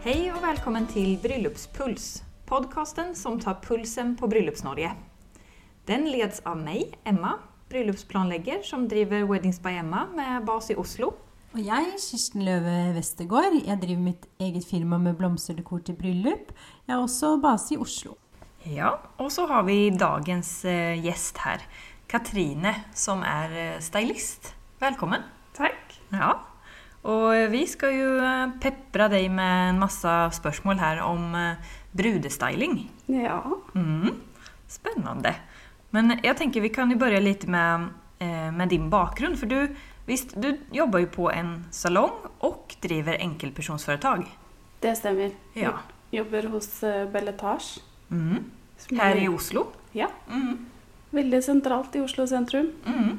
Hej och välkommen till Bryllupspuls, podcasten som tar pulsen på Bryllupsnorge. Den leds av mig, Emma, bryllupsplanlegger som driver Weddings by Emma med bas i Oslo. Og jeg, Kirsten Løve Vestergaard, jeg driver mitt eget firma med blomsterdekor til bryllup. Jeg er også base i Oslo. Ja, och så har vi dagens gäst här, Katrine, som är stylist. Välkommen. Tack. Ja, och vi ska ju peppra dig med en massa spørsmål här om brudestyling. Ja. Spännande. Men jag tänker vi kan ju börja lite med din bakgrund. För du jobbar ju på en salong och driver enkelpersonsföretag. Det stämmer. Ja. Jobbar hos Belletage. Här i Oslo. Ja. Väldigt centralt i Oslo centrum.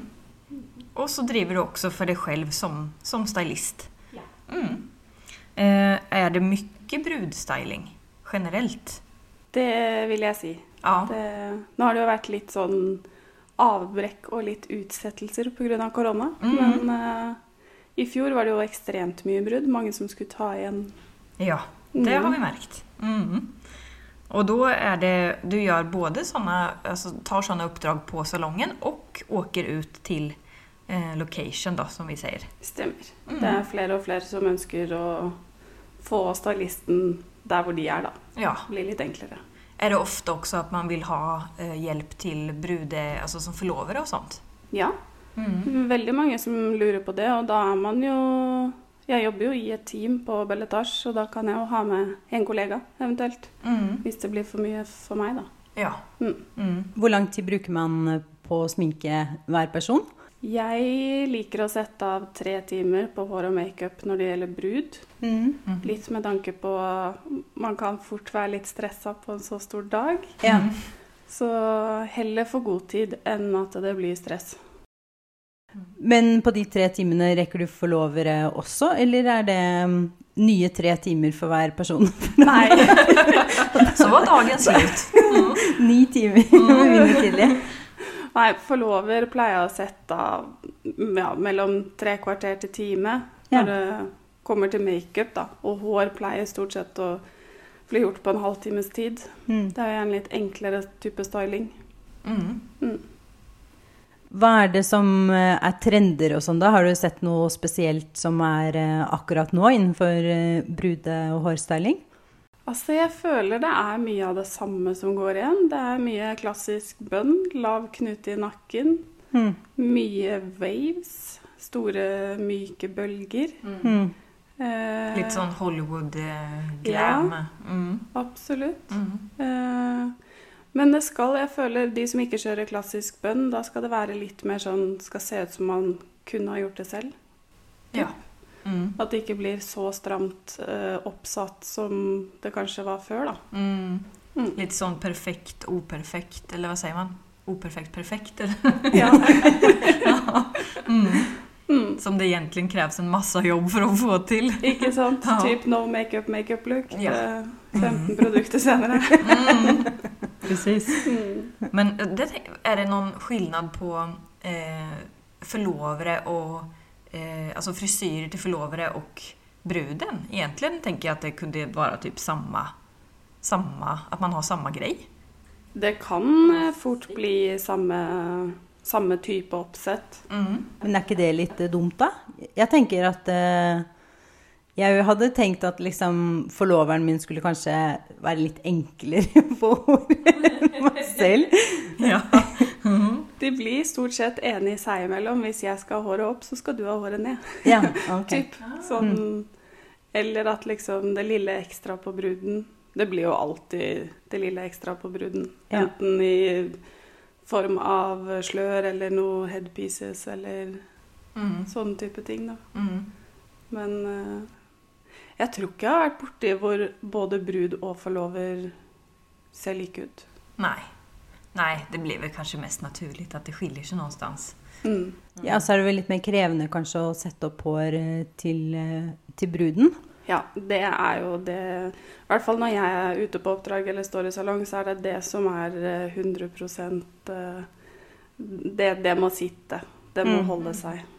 Och så driver du också för dig själv som stylist. Ja. Är det mycket brudstyling generellt? Det vill jag säga. Ja. Nu har det ju varit lite sån avbrekk och lite utsettelser på grund av corona. Men i fjol var det ju extremt mycket brud. Många som skulle ta igen. Ja, det har vi märkt. Och då är det, du gör både såna, alltså tar sådana uppdrag på salongen och åker ut till location då, som vi säger. Stämmer. Det är fler och fler som önskar att få stylisten där hvor de är då. Ja. Det blir lite enklare. Är det ofta också att man vill ha hjälp till brude, alltså som förlovare och sånt? Ja. Väldigt många som lurer på det, och då är man ju... Jag jobbar ju i ett team på Belletage, så då kan jag ha med en kollega eventuellt. Hvis det blir för mycket för mig då. Ja. Hvor lang tid bruker man på å sminke hver person? Jeg liker å sette av 3 timer på hår og makeup når det gjelder brud. Litt med tanke på man kan fort være litt stresset på en så stor dag. Ja. Så heller for god tid enn at det blir stress. Men på de 3 timene rekker du forlovere også, eller er det nye 3 timer for hver person? Nei. Så var dagen slut. 9 timer, begynner tidlig. Nei, forlover pleier å sette av mellom 3 kvarter til time når det kommer til makeup da. Og hår pleier stort sett å bli gjort på en halvtimes tid. Det er jo en litt enklere type styling. Hva er det som er trender og sånn da? Har du sett noe spesielt som er akkurat nå innenfor brude- og hårstyling? Altså, jeg føler det er mye av det samme som går igjen. Det er mye klassisk bønn, lav knute i nakken, mye waves, store, myke bølger. Litt sånn Hollywood-glam. Ja, absolutt. Men det skal, jeg føler, de som ikke kjører klassisk bønn, da skal det være litt mer sånn, skal se ut som man kunne ha gjort det selv. Ja. At det ikke blir så stramt oppsatt som det kanskje var før da. Litt sånn perfekt, operfekt, eller vad säger man? Operfekt, perfekt, eller? Ja. Som det egentligen krävs en massa jobb för att få till. Ikke sant? Ja. Typ no makeup look. Ja. 15 produkter senere. Precis. Men är det någon skillnad på förlovare och alltså frisyrer till förlovare och bruden? Egentligen tänker jag att det kunde vara typ samma att man har samma grej. Det kan fort bli samme type oppsett. Men er ikke det litt dumt da? Jeg tenker at jeg hadde tenkt at liksom forloveren min skulle kanskje være litt enklere på håret meg selv. Ja. De blir stort sett enige seg imellom. Hvis jeg skal ha håret opp, så skal du ha håret ned. Ja, ok. Typ. Sånn, eller at liksom det lille ekstra på bruden, det blir jo alltid det lille ekstra på bruden. Ja. Enten i form av slør eller noe headpieces eller sånn type ting da. Men jeg tror ikke jeg har vært borte hvor både brud og forlover ser like ut. Nej, det blir väl kanske mest naturligt att det skiljer sig någonstans. Ja, så er det vel litt mer krevende kanskje å sette opp hår til bruden. Ja, det er jo det. I hvert fall når jeg er ute på oppdrag eller står i salong, så er det det som er 100%. Det må sitte. Det må holde seg.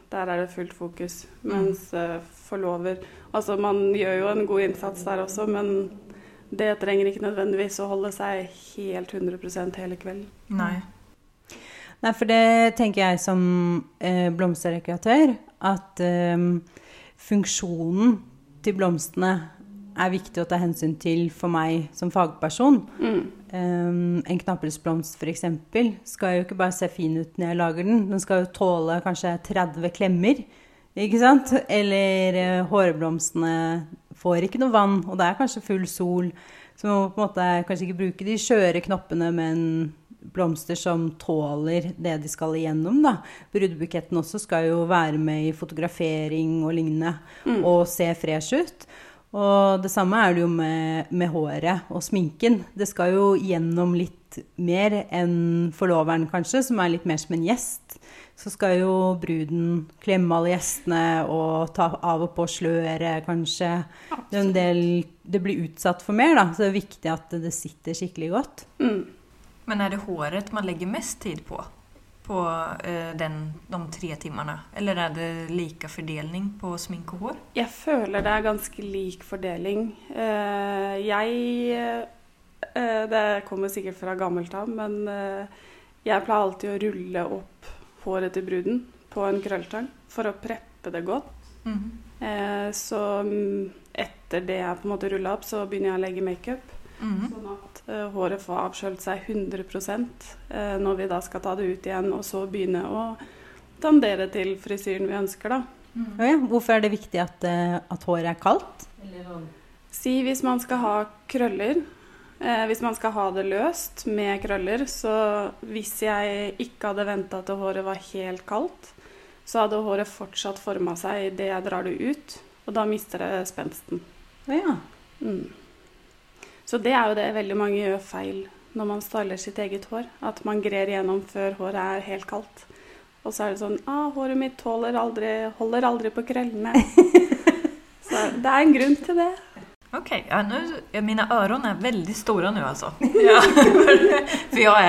der det fullt fokus. Mens forlover, altså man gjør jo en god innsats der også, men det trenger ikke nødvendigvis å holde seg helt 100% hele kvelden. Nei. Nei, for det tenker jeg som blomsterdekoratør, at funksjonen til blomstene er viktig å ta hensyn til for meg som fagperson. En knappelsblomst for eksempel skal jo ikke bare se fin ut når jeg lager den, den skal jo tåle kanskje 30 klemmer, ikke sant? Eller hårblomstene får ikke noe vann, og det er kanskje full sol, så man må på en måte kanskje ikke bruke de skjøre knoppene, men blomster som tåler det de skal igjennom da. Brudebuketten også skal jo være med i fotografering og lignende, og se fresh ut. Og det samme er det jo med håret og sminken. Det skal jo gjennom litt mer enn forloveren kanskje, som er litt mer som en gjest. Så skal jo bruden klemme alle gjestene og ta av og på sløret kanskje. Det er en del, det blir utsatt for mer da, så det er viktig at det sitter skikkelig godt. Men är det håret man lägger mest tid på de 3 timmarna? Eller är det lika fördelning på smink och hår? Jeg føler det er ganske lik fordeling. Det kommer sikkert fra gammelt av, men jeg pleier alltid å rulle opp håret til bruden på en krølltang for å preppe det godt. Så etter det jeg på en måte rullet opp, så begynner jeg å legge make-up. Sånn at håret får avskjølt seg 100% når vi da skal ta det ut igjen, og så begynne å tendere til frisyren vi ønsker da. Ja, hvorfor er det viktig at håret er kaldt? Si hvis man skal ha krøller, hvis man skal ha det løst med krøller, så hvis jeg ikke hadde ventet til håret var helt kaldt, så hadde håret fortsatt formet seg i det jeg drar det ut, og da mister det spensten. Ja. Så det er jo det veldig mange gjør feil når man styler sitt eget hår, at man grer gjennom før håret er helt kaldt. Og så er det sånn, håret mitt holder aldri på krøllene. Så det er en grunn til det. Okej, ja, mina öron är väldigt stora nu alltså. Ja, för jag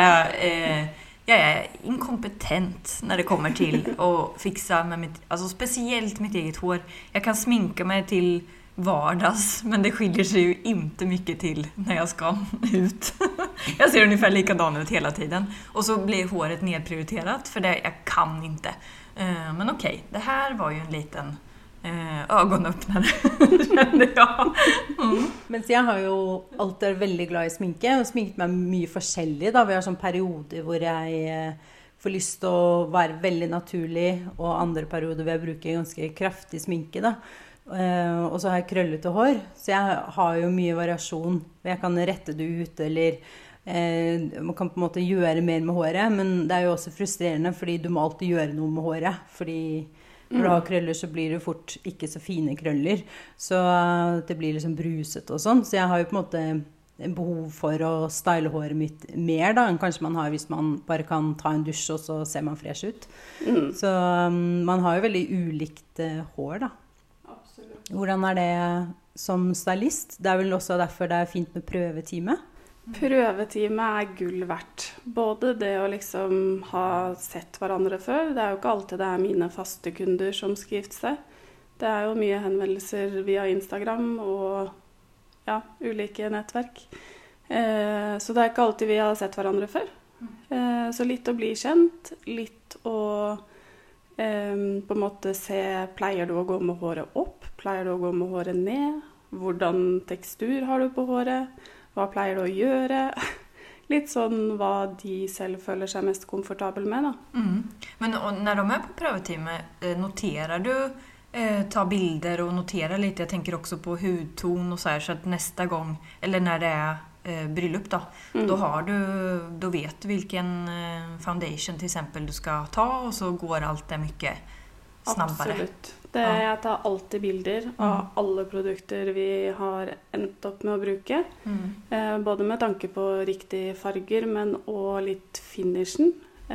är inkompetent när det kommer till att fixa med mitt, alltså speciellt mitt eget hår. Jag kan sminka mig till vardags, men det skiljer sig ju inte mycket till när jag ska ut. Jag ser ungefär likadan ut hela tiden. Och så blir håret nedprioriterat för det jag kan inte. Men okej, det här var ju en liten ögonöppnare, kände jag. Mens jeg har jo alltid vært veldig glad i sminke, og sminket meg mye forskjellig da. Vi har sånn perioder hvor jeg får lyst til å være veldig naturlig, og andre perioder hvor jeg bruker ganske kraftig sminke da. Og så har jeg krøllete hår, så jeg har jo mye variasjon. Jeg kan rette det ut, eller man kan på en måte gjøre mer med håret, men det er jo også frustrerende, fordi du må alltid gjøre noe med håret, fordi når du har krøller så blir det fort ikke så fine krøller, så det blir liksom bruset og sånn, så jeg har jo på en måte en behov for å style håret mitt mer da, enn kanskje man har hvis man bare kan ta en dusj, og så ser man fresh ut. Så man har jo veldig ulikt hår da. Absolutt. Hvordan er det som stylist? Det er vel også derfor det er fint med prøvetime? Prøvetime er gull verdt. Både det å liksom ha sett hverandre før. Det er jo ikke alltid det er mine faste kunder som skal gifte seg. Det er jo mye henvendelser via Instagram og ja, ulike nettverk. Så det er ikke alltid vi har sett hverandre før. Så litt å bli kjent, litt å på en måte se, pleier du å gå med håret opp? Pleier du å gå med håret ned? Hvordan tekstur har du på håret? Hva pleier du å gjøre? Litt sånn hva de selv føler seg mest komfortabel med da. Men när de är på prövotime, noterar du, ta bilder och notera lite? Jag tänker också på hudton och så att nästa gång, eller när det är bröllop då, då vet du vilken foundation till exempel du ska ta, och så går allt det mycket snabbare. Absolutt. Jeg tar alltid bilder av alle produkter vi har endt opp med å bruke. Både med tanke på riktige farger, men også litt finishen.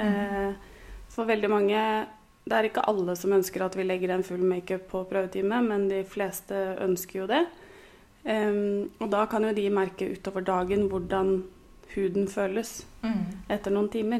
For veldig mange, det er ikke alle som ønsker at vi legger en full make-up på prøvetime, men de fleste ønsker jo det. Og da kan jo de merke utover dagen hvordan huden føles etter noen timer.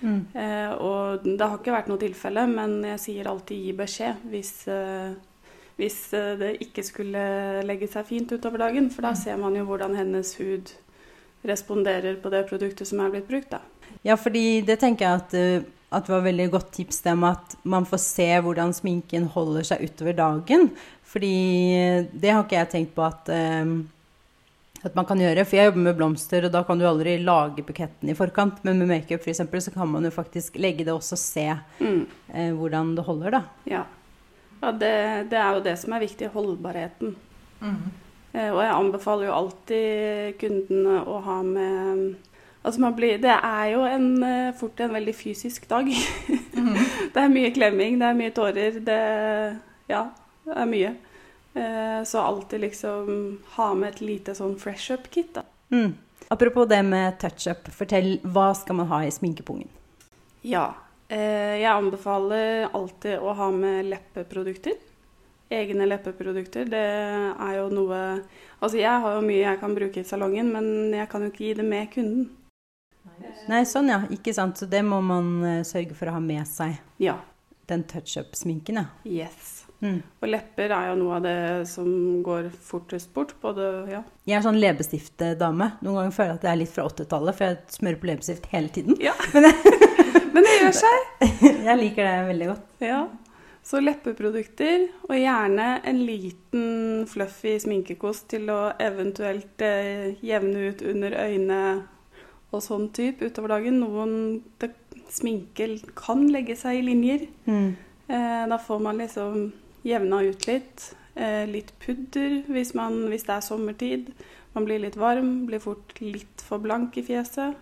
Og det har ikke vært noe tilfelle, men jeg sier alltid gi beskjed hvis det ikke skulle legge seg fint utover dagen, for da ser man jo hvordan hennes hud responderer på det produktet som er blitt brukt da. Ja, fordi det tenker jeg at det var veldig godt tips det med at man får se hvordan sminken holder seg utover dagen. Fordi det har ikke jeg tenkt på at man kan gjøre. For jeg jobber med blomster, og da kan du aldri lage buketten i forkant. Men med make-up for eksempel, så kan man jo faktisk legge det også og se hvordan det holder da. Ja, det er jo det som er viktig, holdbarheten. Og jeg anbefaler jo alltid kundene å ha med... Altså det er jo fort en veldig fysisk dag. Det er mye klemming, det er mye tårer, det er mye. Så alltid liksom ha med et lite sånn fresh up kit da. Apropos det med touch-up, fortell, hva skal man ha i sminkepungen? Ja, jeg anbefaler alltid å ha med leppeprodukter. Egne leppeprodukter, det er jo noe... Altså jeg har jo mye jeg kan bruke i salongen, men jeg kan jo ikke gi det med kunden. Nei, sånn ja, ikke sant. Så det må man sørge for å ha med seg. Ja. Den touch-up-sminken, ja. Yes. Og lepper er jo noe av det som går fortest bort, både, ja. Jeg er sånn leppestift-dame. Noen ganger føler jeg at det er litt fra 80-tallet, for jeg smører på leppestift hele tiden. Ja, men det gjør seg. Jeg liker det veldig godt. Ja, så leppeprodukter, og gjerne en liten fluffy sminkekost til å eventuelt jevne ut under øynene og sånn type utover dagen. Sminke kan legge seg i linjer. Da får man liksom jevna ut litt. Litt pudder hvis det er sommertid. Man blir litt varm, blir fort litt for blank i fjeset.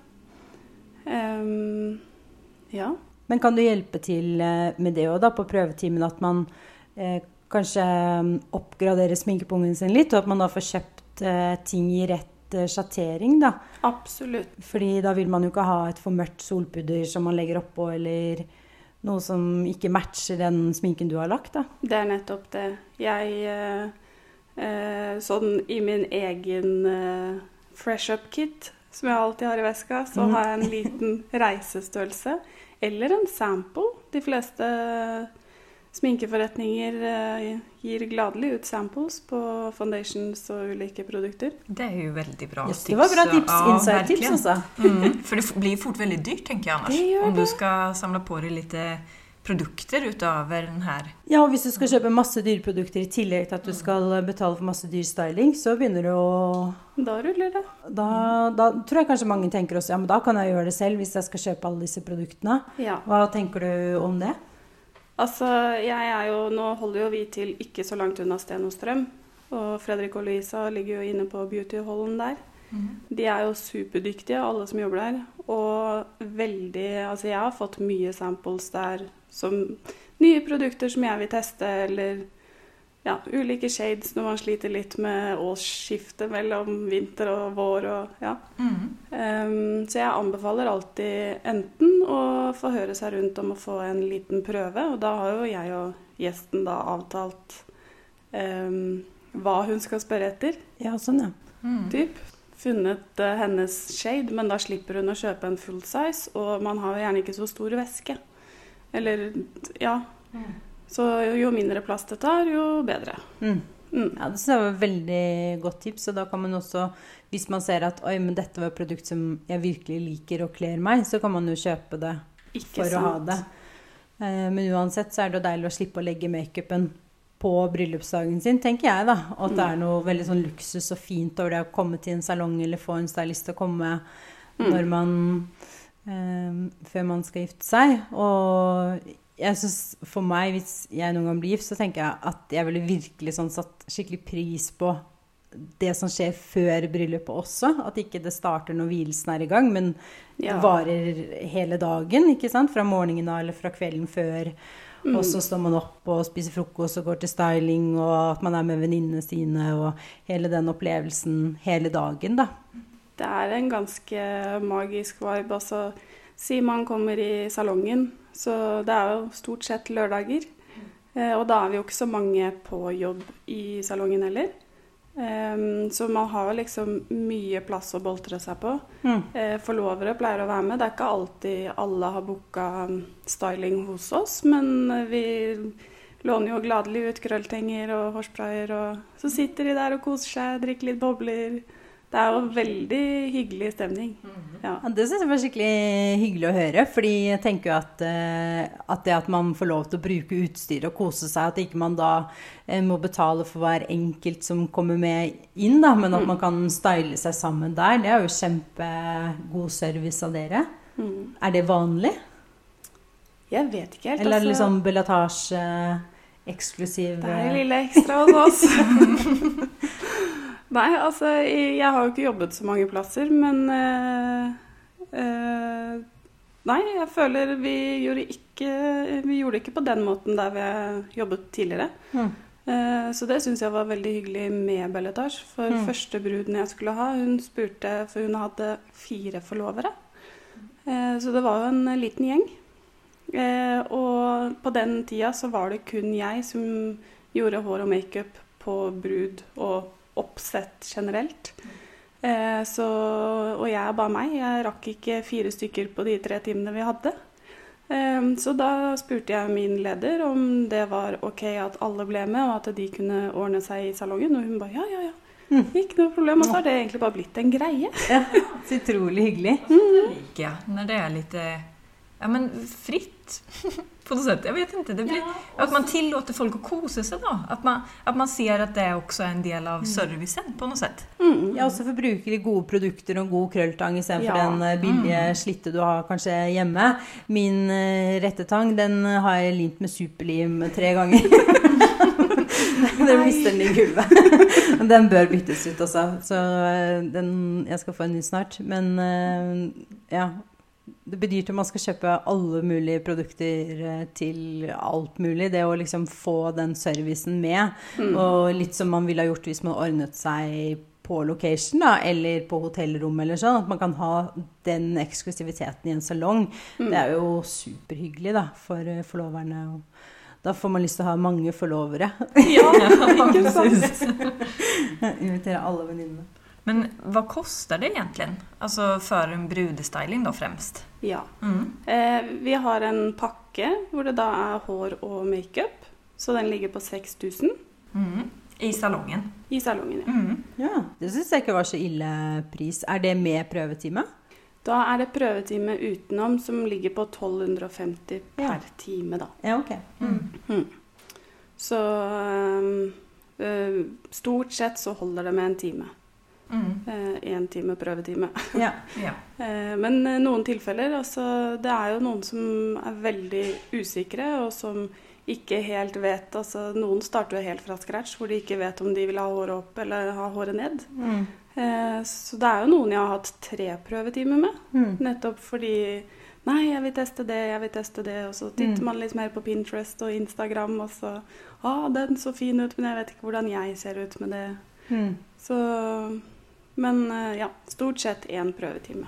Ja. Men kan du hjelpe til med det også da, på prøvetimen, at man kanskje oppgraderer sminkepungen sin litt, og at man da får kjøpt ting i rett sjattering da? Absolutt. Fordi da vil man jo ikke ha et for mørkt solpudder som man legger oppå, eller noe som ikke matcher den sminken du har lagt da. Det er nettopp det. Jeg, sånn i min egen fresh up kit, som jeg alltid har i veska, så har jeg en liten reisestørrelse, eller en sample. De fleste sminkeforretninger gir gladelig ut samples på foundations og ulike produkter. Det är ju väldigt bra tips. Det var bra tips, inside-tips också. För det blir fort väldigt dyrt, tänker jag annars. Om du ska samla på dig lite produkter utöver den här. Ja, og hvis du skal kjøpe masse dyreprodukter i tillegg til at du skal betale for masse dyr styling, så begynner du å... Da ruller det. Da tror jeg kanskje mange tenker også, ja, men da kan jeg gjøre det selv hvis jeg skal kjøpe alle disse produktene. Ja. Hva tenker du om det? Altså, nå holder jo vi til ikke så langt unna Sten og Strøm, og Fredrik og Louisa ligger jo inne på beauty-hallen der. De er jo superdyktige, alle som jobber der, og altså jeg har fått mye samples der, som nye produkter som jeg vil teste, eller ulike shades når man sliter litt med årsskiftet mellom vinter og vår, og så jeg anbefaler alltid enten å få høre seg rundt om å få en liten prøve, og da har jo jeg og gjesten da avtalt hva hun skal spørre etter. Ja, sånn ja. Funnet hennes shade, men da slipper hun å kjøpe en full size, og man har gjerne ikke så stor væske. Eller, så jo mindre plass det tar, jo bedre. Ja, det synes jeg var et veldig godt tips, og da kan man også, hvis man ser at oi, men dette var et produkt som jeg virkelig liker og kler meg, så kan man jo kjøpe det for å ha det. Men uansett så er det jo deilig å slippe å legge make-upen på bryllupsdagen sin, tenker jeg da, og at det er noe veldig sånn luksus og fint over det å komme til en salong eller få en stylist til å komme når man før man skal gifte seg, og jeg synes for meg, hvis jeg noen gang blir gift, så tenker jeg at jeg ville virkelig sånn satt skikkelig pris på det som skjer før bryllupet også, at ikke det starter når hvilsen er i gang, men det varer hele dagen, ikke sant? Fra morgenen eller fra kvelden før, og så står man opp og spiser frokost og går til styling, og at man er med venninnene sine, og hele den opplevelsen hele dagen da. Det er en ganske magisk vibe, altså si man kommer i salongen, så det er jo stort sett lørdager, og da er vi jo ikke så mange på jobb i salongen heller. Så man har liksom mye plass å boltre seg på. Forlovere pleier å være med. Det er ikke alltid alle har booket styling hos oss, men vi låner jo gladelig ut krølltenger og hårsprayer, og så sitter de der og koser seg, drikker litt bobler. Det er jo veldig hyggelig stemning. Ja. Ja, det synes jeg var skikkelig hyggelig å høre, fordi jeg tenker jo at det at man får lov til å bruke utstyr og kose seg, at ikke man da må betale for hver enkelt som kommer med inn, da, men at man kan style seg sammen der, det er jo kjempegod service av dere. Er det vanlig? Jeg vet ikke helt. Eller er det liksom Belatage eksklusiv? Det er lille ekstra hos oss. Nei, altså, jeg har jo ikke jobbet så mange plasser, men nei, jeg føler vi gjorde det ikke på den måten der vi har jobbet tidligere. Så det synes jeg var veldig hyggelig med Belatage. For første bruden jeg skulle ha, hun spurte, for hun hadde 4 forlovere. Så det var jo en liten gjeng. Og på den tida så var det kun jeg som gjorde hår og make-up på brud og oppsett generelt. Og jeg er bare meg. Jeg rakk ikke 4 stykker på de 3 timene vi hadde. Så da spurte jeg min leder om det var ok at alle ble med, og at de kunne ordne seg i salongen. Og hun bare, ja. Ikke noe problem. Og så har det egentlig bare blitt en greie. Ja, så utrolig hyggelig. Ja, när det är lite fritt på något sätt. Jag vet inte, det blir att man tillåter folk att kosa sig då. Att man ser att det också är en del av servicen på något sätt. Ja, også for bruker de gode produkter og god krølltang i stedet for den billige slitte du har kanskje hjemme. Min rettetang, den har jeg limt med superlim 3 ganger. Den mister den i gulvet. Den bør byttes ut også. Så jeg skal få en ny snart. Men ja, det betyr at man skal kjøpe alle mulige produkter til alt mulig. Det å liksom få den servicen med. Og litt som man ville ha gjort hvis man ordnet seg på location da, eller på hotellrom eller sånn. At man kan ha den eksklusiviteten i en salong. Det er jo superhyggelig da, for forloverne. Da får man lyst til å ha mange forlovere. Ja, ikke sant. Invitere alle venninnene. Men vad kostar det egentligen? Alltså för en brudestyling då främst? Ja. Vi har en pakke hvor det da er hår og make-up. Så den ligger på 6 000. I salongen? I salongen, ja. Ja, det synes jeg ikke var så ille pris. Er det med prøvetime? Da er det prøvetime utenom som ligger på 1250 per time da. Ja, ok. Så stort sett så holder det med en time. 1 time prøvetime. Ja. Men noen tilfeller, altså, det er jo noen som er veldig usikre, og som ikke helt vet, altså noen starter jo helt fra scratch, hvor de ikke vet om de vil ha håret opp eller ha håret ned. Så det er jo noen jeg har hatt 3 prøvetimer med, nettopp fordi, nei, jeg vil teste det, og så titter man litt mer på Pinterest og Instagram, og så, den så fin ut, men jeg vet ikke hvordan jeg ser ut med det. Så... Men ja, stort sett 1 prøvetime.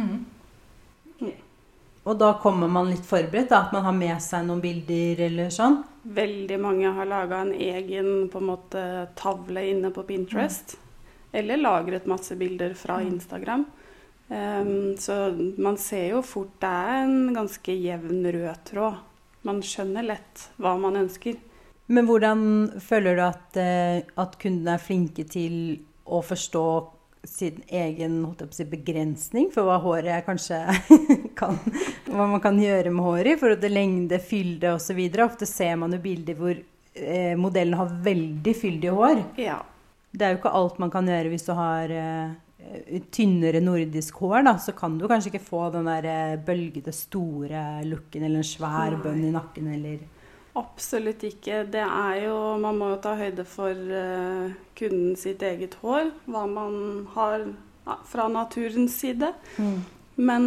Og da kommer man litt forberedt, da, at man har med seg noen bilder eller sånn? Veldig mange har laget en egen på en måte tavle inne på Pinterest, eller lagret masse bilder fra Instagram. Så man ser jo fort det er en ganske jevn rød tråd. Man skjønner lett hva man ønsker. Men hvordan føler du at kundene er flinke til å forstå sin egen begrensning for hva håret kanskje hva man kan gjøre med håret i forhold til lengde, fylde og så videre. Ofte ser man jo bilder hvor modellen har veldig fyldige hår. Ja. Det er jo ikke alt man kan gjøre hvis du har tynnere nordisk hår da, så kan du kanskje ikke få den der bølgede store looken eller en svær bønn i nakken eller... Absolutt ikke. Det er jo, man må jo ta høyde for kunden sitt eget hår, hva man har fra naturens side. Men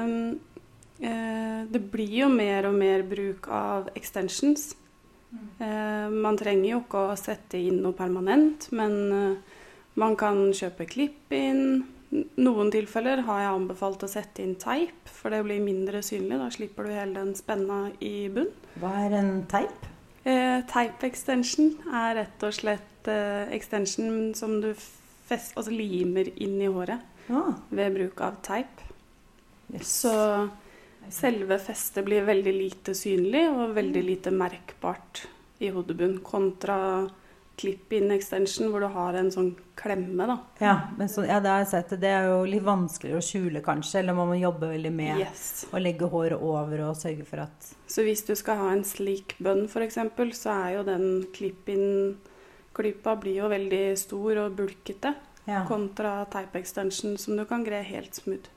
det blir jo mer og mer bruk av extensions. Man trenger jo ikke å sette inn noe permanent, men man kan kjøpe klipp inn. Noen tilfeller har jeg anbefalt å sette inn teip, for det blir mindre synlig. Da slipper du hele den spenna i bunn. Hva er en teip? Type extension rett og slett extension som du limer inn i håret ved bruk av type. Yes. Så selve festet blir veldig lite synlig og veldig lite merkbart i hodebunn, kontra clip-in extension, hvor du har en sånn klemme, da. Ja, men det har jeg sett. Det jo litt vanskeligere å skjule, kanskje, eller må man jobbe veldig med å legge håret over og sørge for at... Så hvis du skal ha en slik bønn, for eksempel, så jo den clip-in-klypa blir jo veldig stor og bulkete, kontra type extension, som du kan gre helt smooth.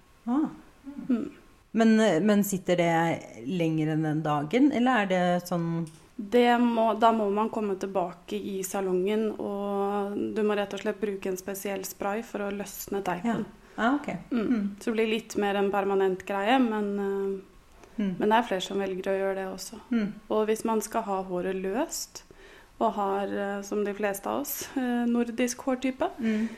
Men sitter det lenger enn den dagen, eller det sånn... Da må man komme tilbake i salongen, og du må rett og slett bruke en spesiell spray for å løsne teipen. Okay. Så det blir litt mer en permanent greie, men det flere som velger å gjøre det også. Og hvis man skal ha håret løst, og har, som de fleste av oss, nordisk hårtype,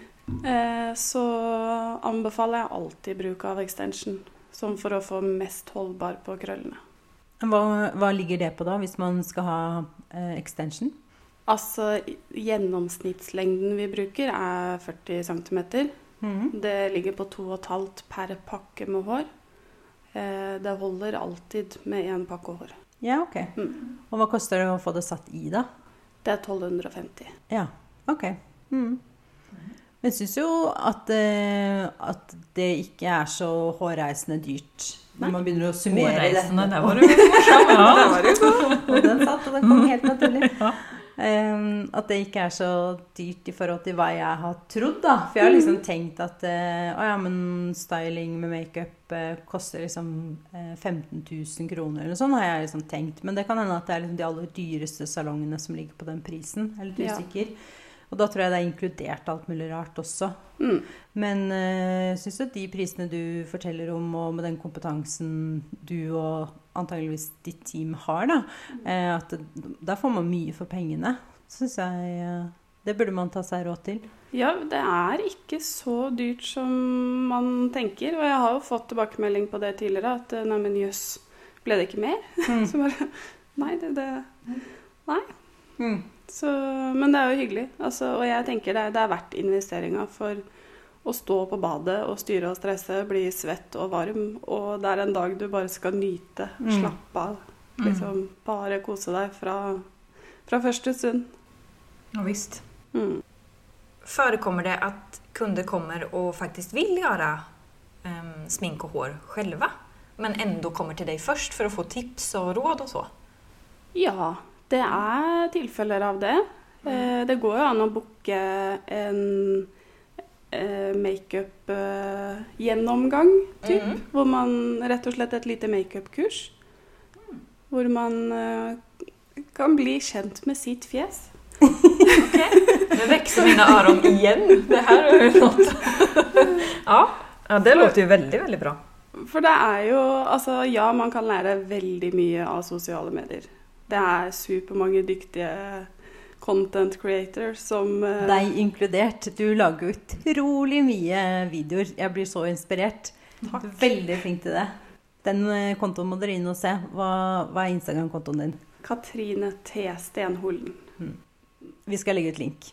så anbefaler jeg alltid bruk av extension, som for å få mest holdbar på krøllene. Hva ligger det på da, hvis man skal ha extension? Altså, gjennomsnittslengden vi bruker 40 cm. Det ligger på 2,5 per pakke med hår. Det holder alltid med en pakke hår. Ja, ok. Og hva koster det å få det satt i da? Det 1250. Ja, ok. Men jeg synes jo at det ikke så hårreisende dyrt. Når man begynner å summere det. Det var jo morsomt, ja. Det var jo god. Og den satt, og den kom helt naturlig. At det ikke så dyrt i forhold til hva jeg har trodd, da. For jeg har liksom tenkt at men styling med make-up koster liksom 15 000 kroner eller noe sånt, har jeg liksom tenkt. Men det kan hende at det liksom de aller dyreste salongene som ligger på den prisen. Jeg litt usikker. Og da tror jeg det inkludert alt mulig rart også. Men synes du at de prisene du forteller om, og med den kompetansen du og antageligvis ditt team har, da, at der får man mye for pengene, synes jeg det burde man ta seg råd til. Ja, det ikke så dyrt som man tenker, og jeg har jo fått tilbakemelding på det tidligere, at nei, men jøss, ble det ikke mer? Så bare, nei, nei. Så, men det jo hyggelig, altså, og jeg tenker det verdt investeringen for å stå på badet og styre og stresse, bli svett og varm, og det en dag du bare skal nyte, slappe av, liksom bare kose deg fra første stund. Ja, visst. Förekommer det att kunder kommer och faktiskt vill göra smink och hår själva, men ändå kommer till dig först för att få tips och råd och så? Ja, det tilfeller av det. Det går jo an å booke en make-up-gjennomgang, hvor man rett og slett et lite make-up-kurs, hvor man kan bli kjent med sitt fjes. Okej, nu växer mina öron igen. Det här ju något. Ja, det låter ju väldigt, väldigt bra. For det jo, altså ja, man kan lære veldig mye av sosiale medier. Det supermange dyktige content creators som... Deg inkludert. Du lager utrolig mye videoer. Jeg blir så inspirert. Takk. Du veldig flink til det. Den kontoen må dere inn og se. Hva Instagram-kontoen din? Katrine T. Stenholen. Vi skal legge ut link.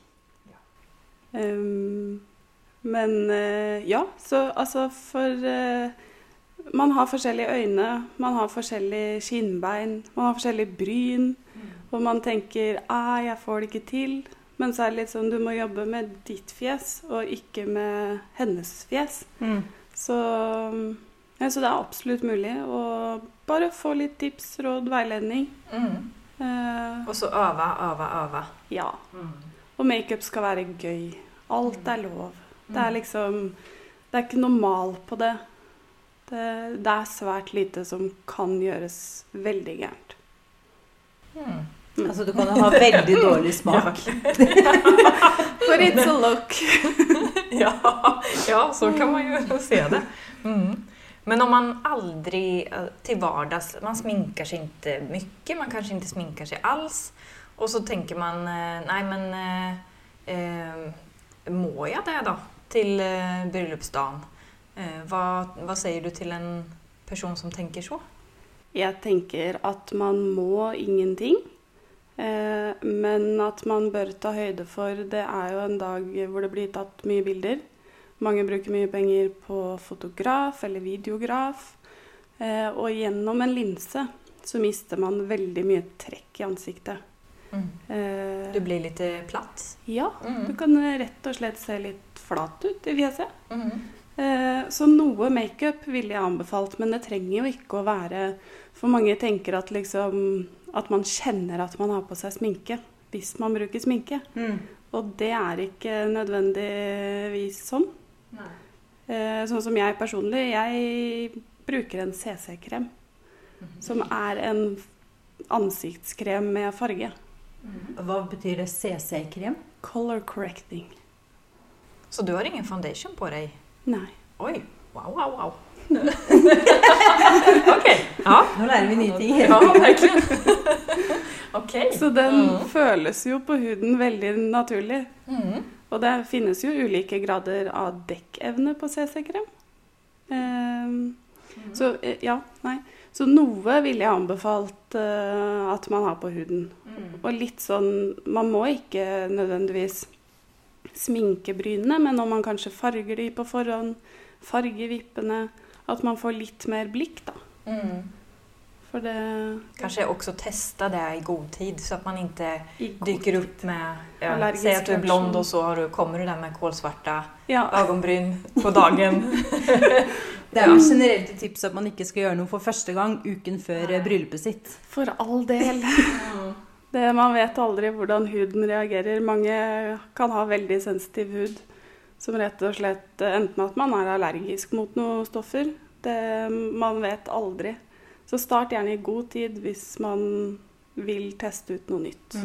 Men ja, så altså for... Man har forskjellige øyne, man har forskjellige kinnbein, man har forskjellige bryn, og man tenker, jeg får det ikke til. Men så det litt sånn, du må jobbe med ditt fjes, og ikke med hennes fjes. Så det absolutt mulig å bare få litt tips, råd, veiledning. Og så øve. Ja, og make-up skal være gøy. Alt lov. Det liksom, det ikke noe mal på det. Det svært lite som kan gjøres veldig gærent. Altså du kan ha veldig dårlig smak. For it's a look. ja, så kan man ju se det. Men om man aldrig till vardags, man sminkar sig inte mycket, man kanske inte sminkar sig alls, och så tänker man, nej men må jag det då till bröllopsdagen? Vad säger du till en person som tänker så? Jeg tenker at man må ingenting. Men at man bør ta høyde for, det jo en dag hvor det blir tatt mye bilder. Mange bruker mye penger på fotograf eller videograf. Og gjennom en linse så mister man veldig mye trekk i ansiktet. Du blir litt platt. Ja, du kan rett og slett se litt flat ut i fjeset. Så noe make-up ville jeg anbefalt, men det trenger jo ikke å være, for mange tenker at liksom, at man kjenner at man har på seg sminke, hvis man bruker sminke. Og det ikke nødvendigvis sånn. Sånn som jeg personlig, jeg bruker en CC-krem, som en ansiktskrem med farge. Hva betyr det CC-krem? Color correcting. Så du har ingen foundation på deg? Nei. Oi, wow. Ok, ja. Nå lærer vi nye ting. Ja, virkelig. Ok. Så den føles jo på huden veldig naturlig. Og det finnes jo ulike grader av dekkevne på CC-krem. Så noe ville jeg anbefalt at man har på huden. Og litt sånn, man må ikke nødvendigvis sminke brynene, men om man kanskje farger de på forhånd, farger vippene, at man får litt mer blikk da. For det... Kanskje også testa det i god tid, så at man ikke dyker opp med... Si at du blond, og så kommer du der med kålsvarta ögonbryn på dagen. Det jo generelt et tips at man ikke skal gjøre noe for første gang uken før bryllupet sitt. For all del. Man vet aldri hvordan huden reagerer. Mange kan ha veldig sensitiv hud, som rett og slett enten at man allergisk mot noen stoffer. Man vet aldri. Så start gjerne i god tid hvis man vil teste ut noe nytt.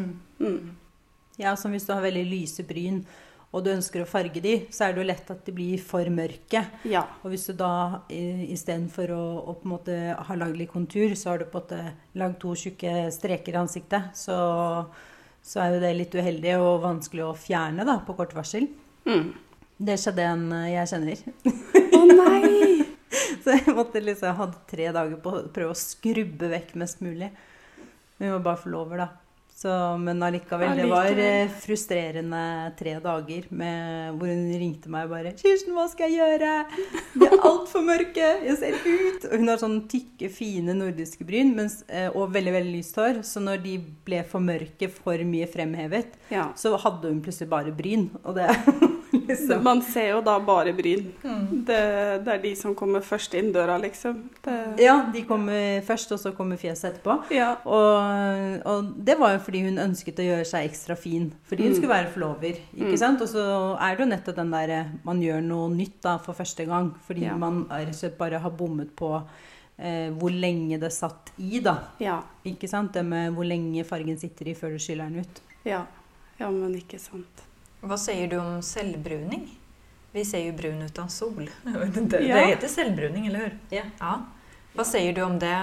Ja, som hvis du har veldig lyse bryn, og du ønsker å farge de, så det jo lett at de blir for mørke. Ja. Og hvis du da, i stedet for å på en måte ha laget litt kontur, så har du på en måte lagd 2 tjukke streker i ansiktet, så jo det litt uheldig og vanskelig å fjerne da, på kort varsel. Det skjedde en jeg kjenner. Å nei! Så jeg måtte liksom, hadde 3 dager på å prøve å skrubbe vekk mest mulig. Men vi var bare forlover da. Men allikevel, det var frustrerende 3 dager hvor hun ringte meg og bare «Kirsten, hva skal jeg gjøre? De alt for mørke, jeg ser ut!» Og hun har sånn tykke, fine nordiske bryn, og veldig, veldig lyst hår. Så når de ble for mørke, for mye fremhevet, så hadde hun plutselig bare bryn. Og det liksom... Man ser jo da bare bryn. Det de som kommer først inn døra, liksom. Ja, de kommer først, og så kommer fjeset etterpå. Ja. Og det var jo fordi hun ønsket å gjøre seg ekstra fin, fordi hun skulle være forlover, ikke sant? Og så det jo nettopp den der, man gjør noe nytt da for første gang, fordi man bare har bommet på hvor lenge det satt i da, ikke sant? Det med hvor lenge fargen sitter i før du skyller den ut. Ja, men ikke sant. Hva sier du om selvbruning? Vi ser jo brun utan sol. Det heter selvbruning, eller hur? Ja. Hva sier du om det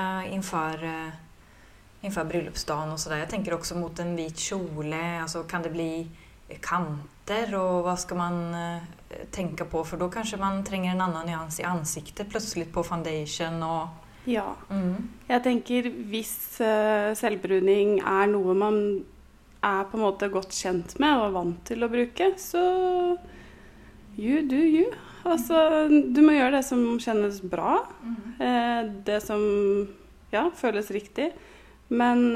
inför bröllopsdagen och sådär? Jag tänker också mot en vit kjole. Alltså, kan det bli kanter? Och vad ska man tänka på? För då kanske man tränger en annan nyans i ansiktet plötsligt på foundation. Och... Ja, jeg tenker hvis selvbruning noe man på en måte godt kjent med og vant til å bruke, så you do you. Altså, du må gjøre det som kjennes bra. Det som føles riktig. Men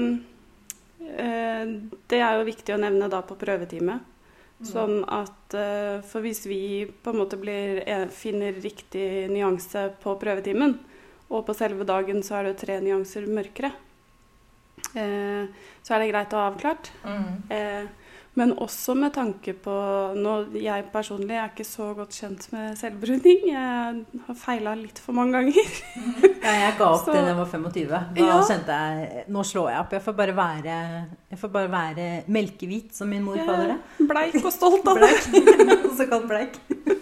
det jo viktig å nevne da på prøvetime. Sånn at, for hvis vi på en måte finner riktig nyanse på prøvetimen, og på selve dagen så det 3 nyanser mørkere, så det greit å ha avklart. Men også med tanke på, jeg personlig ikke så godt kjent med selvbruning. Jeg har feilet litt for mange ganger. Jeg ga opp det da jeg var 25. Da kjente jeg, nå slår jeg opp. Jeg får bare være melkehvit, som min mor kaller det. Bleik og stolt av det. Så kalt bleik.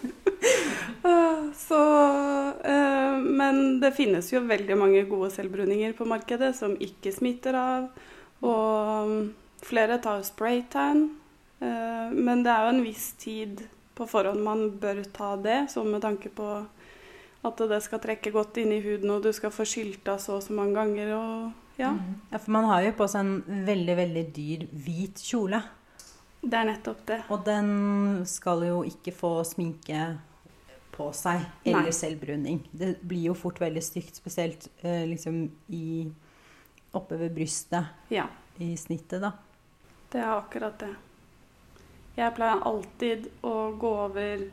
Men det finnes jo veldig mange gode selvbruninger på markedet som ikke smitter av. Og flere tar spraytan. Men det jo en viss tid på forhånd man bør ta det, så med tanke på at det skal trekke godt inn i huden, og du skal få skylt av så mange ganger, og Ja. Ja, for man har jo på seg en veldig, veldig dyr hvit kjole. Det er nettopp det. Og den skal jo ikke få sminke på seg, eller Nei. selvbruning. Det blir jo fort veldig stygt, spesielt liksom oppe ved brystet, Ja, i snittet da. det er akkurat det. Jeg pleier alltid å gå over,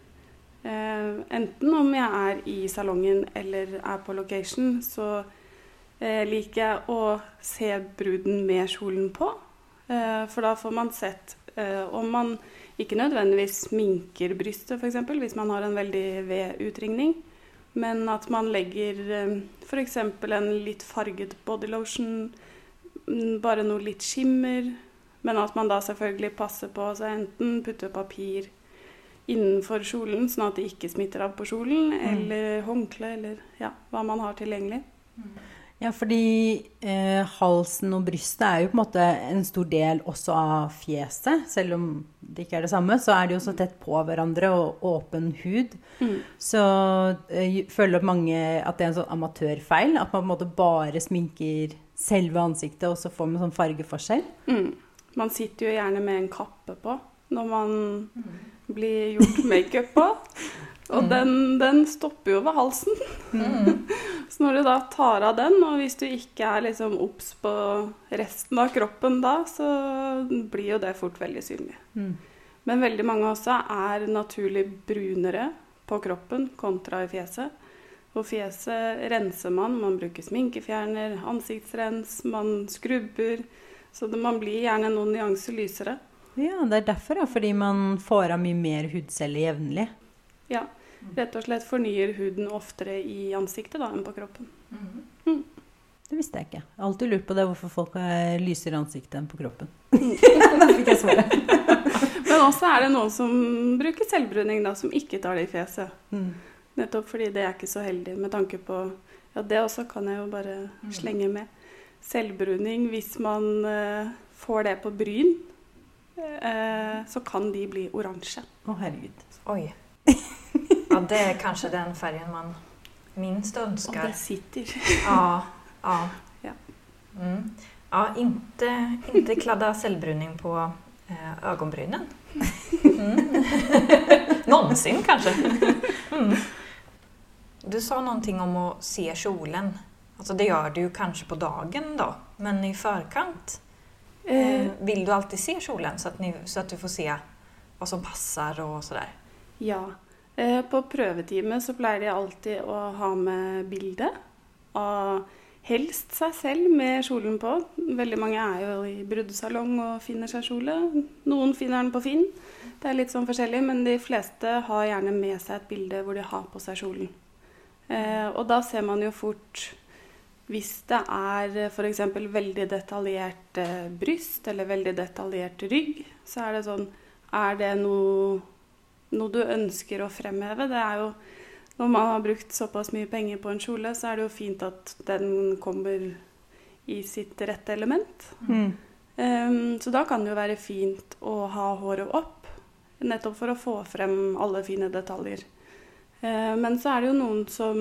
enten om jeg er i salongen eller er på location, så liker jeg å se bruden med kjolen på. For da får man sett om man ikke nødvendigvis sminker brystet, for eksempel, hvis man har en veldig ved utringning, men at man legger for eksempel en litt farget bodylotion, bare noe litt skimmer, men at man da selvfølgelig passer på å enten putte papir innenfor kjolen, sånn at det ikke smitter av på kjolen, eller håndkle, eller ja, hva man har tilgjengelig. Ja, fordi halsen og brystet er jo på en måte en stor del også av fjeset, selv om det ikke er det samme, så er de jo så tett på hverandre og åpen hud. Så føler mange at det er en sånn amatørfeil, at man på en måte bare sminker selve ansiktet, og så får man sånn fargeforskjell. Man sitter jo gjerne med en kappe på når man blir gjort make-up på. Og den stopper jo ved halsen. Så når du da tar av den, og hvis du ikke er liksom obs på resten av kroppen da, så blir jo det fort veldig synlig. Men veldig mange også er naturlig brunere på kroppen kontra i fjeset. Og fjeset renser man bruker sminkefjerner, ansiktsrens, man skrubber, så man blir gjerne noen nyanser lysere. Ja, det er derfor, fordi man får av mye mer hudceller jevnlig. Ja, rett og slett fornyer huden oftere i ansiktet da, enn på kroppen. Det visste jeg ikke. Jeg har alltid lurt på det, hvorfor folk er lysere i ansiktet enn på kroppen. Da fikk jeg svaret. Men også er det noen som bruker selvbruning da, som ikke tar det i fjeset. Nettopp fordi det er ikke så heldig med tanke på, ja, det også kan jeg jo bare slenge med. Selvbruning, hvis man får det på bryn, så kan de bli oransje. Å, herregud. Oj. Ja, det är kanske den färgen man minst önskar. Og det sitter. Ja. Ja. Ja, inte kladda cellbruning på ögonbrynen. Någonsin kanske. Du sa någonting om att se kjolen. Alltså det gör du ju kanske på dagen då, men i förkant vill du alltid se kjolen så att du får se vad som passar och sådär. Ja, på prøvetime så pleier de alltid å ha med bilde av helst seg selv med kjolen på. Veldig mange er jo i brudesalong og finner seg kjole. Noen finner den på Finn. Det er litt sånn forskjellig, men de fleste har gjerne med seg et bilde hvor de har på seg kjolen. Og da ser man jo fort, hvis det er for eksempel veldig detaljert bryst eller veldig detaljert rygg, så er det sånn, er det noe du ønsker å fremheve? Det er jo, når man har brukt såpass mye penger på en kjole, så er det jo fint at den kommer i sitt rette element. Så da kan det jo være fint å ha håret opp, nettopp for å få frem alle fine detaljer. Men så er det jo noen som